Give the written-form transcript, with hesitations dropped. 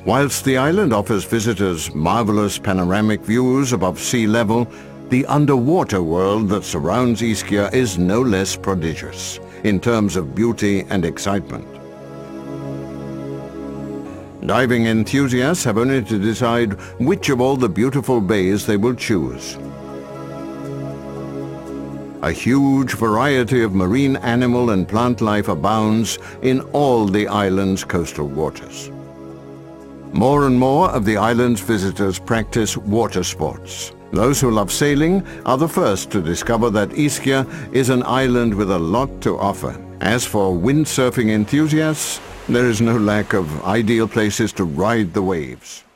Whilst the island offers visitors marvelous panoramic views above sea level, the underwater world that surrounds Ischia is no less prodigious in terms of beauty and excitement. Diving enthusiasts have only to decide which of all the beautiful bays they will choose. A huge variety of marine animal and plant life abounds in all the island's coastal waters. More and more of the island's visitors practice water sports. Those who love sailing are the first to discover that Ischia is an island with a lot to offer. As for windsurfing enthusiasts, there is no lack of ideal places to ride the waves.